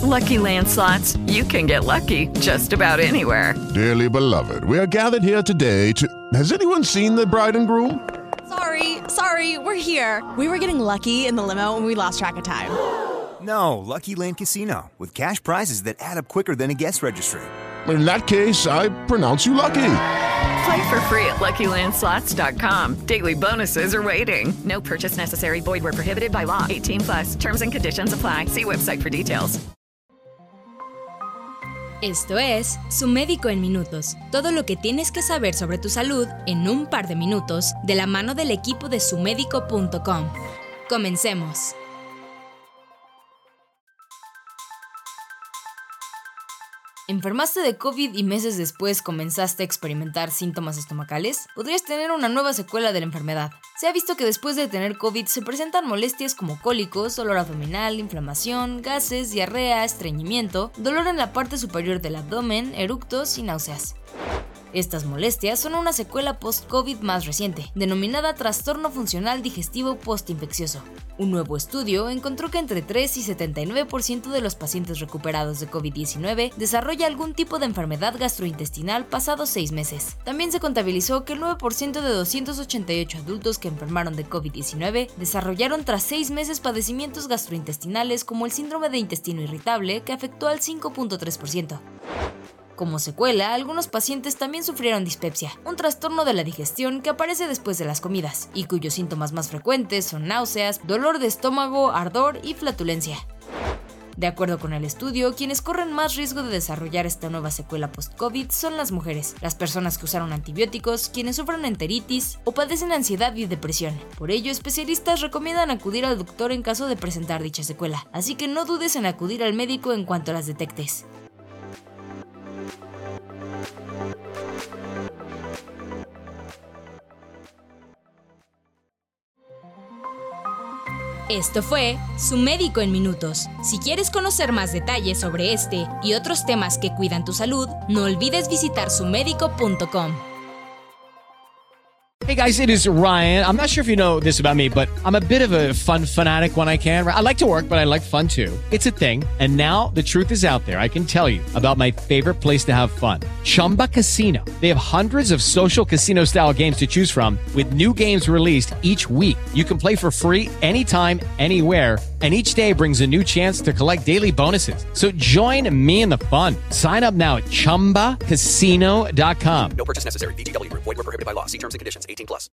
Lucky Land Slots, you can get lucky just about anywhere. Dearly beloved, we are gathered here today to... Has anyone seen the bride and groom? Sorry, we're here. We were getting lucky in the limo and we lost track of time. No, Lucky Land Casino, with cash prizes that add up quicker than a guest registry. In that case, I pronounce you lucky. Play for free at LuckyLandSlots.com. Daily bonuses are waiting. No purchase necessary. Void where prohibited by law. 18+. Terms and conditions apply. See website for details. Esto es Su Médico en Minutos. Todo lo que tienes que saber sobre tu salud en un par de minutos, de la mano del equipo de SuMédico.com. Comencemos. ¿Enfermaste de COVID y meses después comenzaste a experimentar síntomas estomacales? Podrías tener una nueva secuela de la enfermedad. Se ha visto que después de tener COVID se presentan molestias como cólicos, dolor abdominal, inflamación, gases, diarrea, estreñimiento, dolor en la parte superior del abdomen, eructos y náuseas. Estas molestias son una secuela post-COVID más reciente, denominada trastorno funcional digestivo postinfeccioso. Un nuevo estudio encontró que entre 3 y 79% de los pacientes recuperados de COVID-19 desarrolla algún tipo de enfermedad gastrointestinal pasados 6 meses. También se contabilizó que el 9% de 288 adultos que enfermaron de COVID-19 desarrollaron tras 6 meses padecimientos gastrointestinales como el síndrome de intestino irritable, que afectó al 5.3%. Como secuela, algunos pacientes también sufrieron dispepsia, un trastorno de la digestión que aparece después de las comidas, y cuyos síntomas más frecuentes son náuseas, dolor de estómago, ardor y flatulencia. De acuerdo con el estudio, quienes corren más riesgo de desarrollar esta nueva secuela post-COVID son las mujeres, las personas que usaron antibióticos, quienes sufren enteritis o padecen ansiedad y depresión. Por ello, especialistas recomiendan acudir al doctor en caso de presentar dicha secuela, así que no dudes en acudir al médico en cuanto las detectes. Esto fue Su Médico en Minutos. Si quieres conocer más detalles sobre este y otros temas que cuidan tu salud, no olvides visitar SuMédico.com. Hey guys, it is Ryan. I'm not sure if you know this about me, but I'm a bit of a fun fanatic when I can. I like to work, but I like fun too. It's a thing. And now the truth is out there. I can tell you about my favorite place to have fun. Chumba Casino. They have hundreds of social casino style games to choose from with new games released each week. You can play for free anytime, anywhere. And each day brings a new chance to collect daily bonuses. So join me in the fun. Sign up now at ChumbaCasino.com. No purchase necessary. VGW Group. Void where prohibited by law. See terms and conditions. 18+.